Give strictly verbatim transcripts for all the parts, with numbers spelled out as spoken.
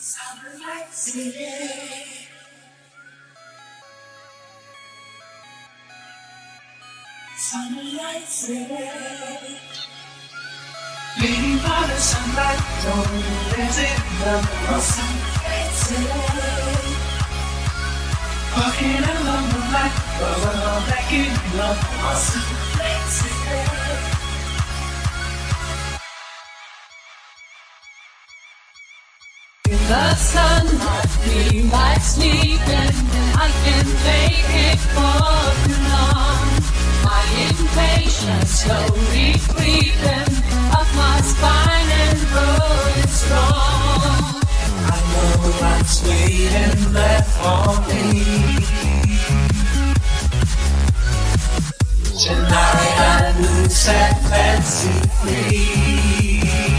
Sunlight City. Sunlight City. Waiting for the sunlight, don't visit the Sunlight City. Walking along the light, but we're all making love on Sunlight City. The sun might be like sleeping, I can take it for too long. My impatience slowly creeping up my spine and growing strong. I know what's waiting there for me. Tonight I lose and see free.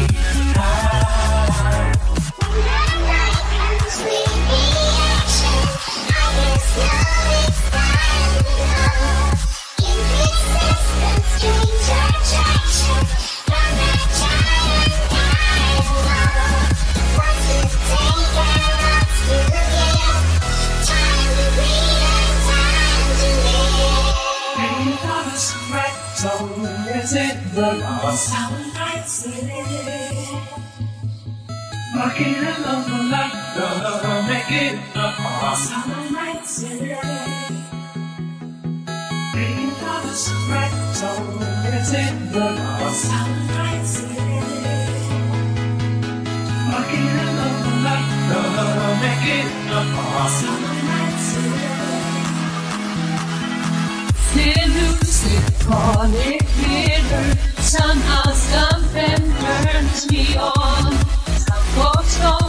Sunlight City. Walking along the light, gonna make it up on Sunlight City. Waiting for the sunrise, so it's in the Sunlight City. Walking along the light, gonna make it up on Sunlight City. Elusive, call it bitter. Somehow something turns me on. Some folks don't